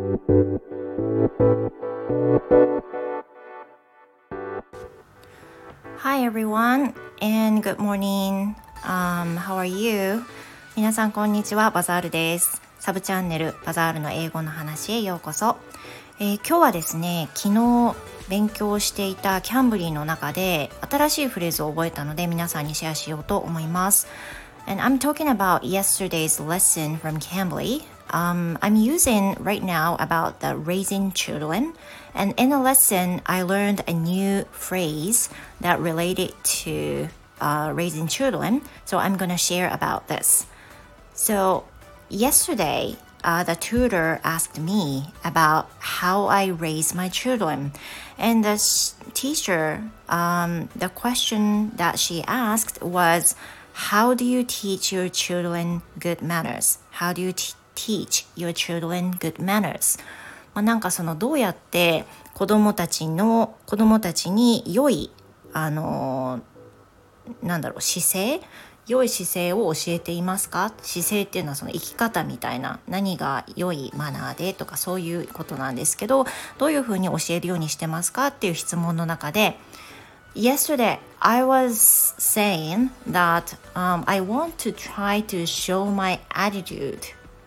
Hi everyone and good morning. How are you? 皆さんこんにちは、バザールです。サブチャンネルバザールの英語の話へようこそ。今日はですね、昨日勉強していたキャンブリーの中で新しいフレーズを覚えたので皆さんにシェアしようと思います。And I'm talking about yesterday's lesson from Cambly. I'm using right now about the raising children. And in the lesson, I learned a new phrase that related to raising children. So I'm going to share about this. So yesterday, the tutor asked me about how I raise my children. And the teacher, the question that she asked was, How do you teach your children good manners? How do you teach your children good manners? なんかそのどうやって子供たちに良い良い姿勢を教えていますか？姿勢っていうのはその生き方みたいな、何が良いマナーでとかそういうことなんですけど、どういうふうに教えるようにしてますかっていう質問の中で、Yesterday, I was saying that I want to try to show my attitude,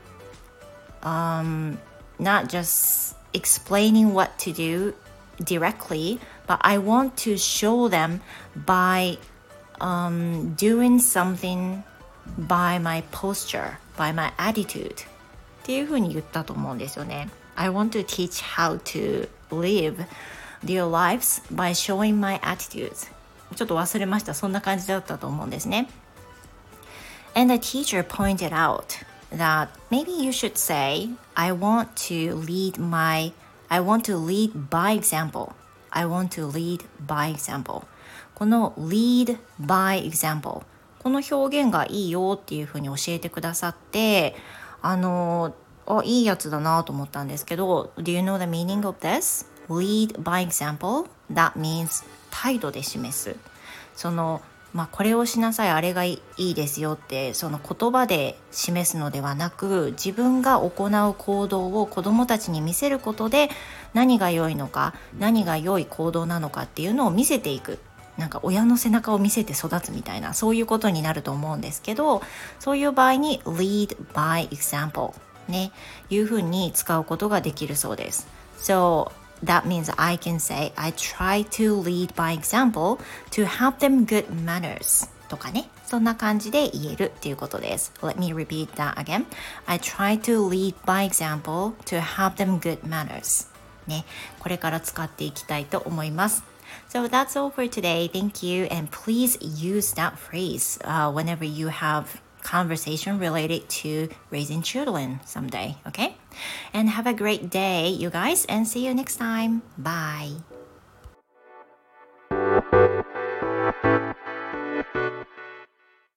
not just explaining what to do directly, but I want to show them by doing something by my posture, by my attitude っていうふうに言ったと思うんですよね。I want to teach how to live their lives by showing my attitudes. ちょっと忘れました。そんな感じだったと思うんですね。And the teacher pointed out that maybe you should say, I want to lead by example. I want to lead by example. この lead by example この表現がいいよっていうふうに教えてくださって、いいやつだなと思ったんですけど、Do you know the meaning of this? Lead by example? That means 態度で示す。これをしなさい、あれがいいですよって、その言葉で示すのではなく、自分が行う行動を子どもたちに見せることで、何が良いのか、何が良い行動なのかっていうのを見せていく。なんか親の背中を見せて育つみたいな、そういうことになると思うんですけど、そういう場合に lead by example ね、いうふうに使うことができるそうです。So that means I can say I try to lead by example to help them good manners とかね、そんな感じで言えるっていうことです。Let me repeat that again. I try to lead by example to help them good manners ね、これから使っていきたいと思います。So that's all for today. Thank you. And please use that phrase whenever you have conversation related to raising children someday. Okay? And have a great day, you guys. And see you next time. Bye.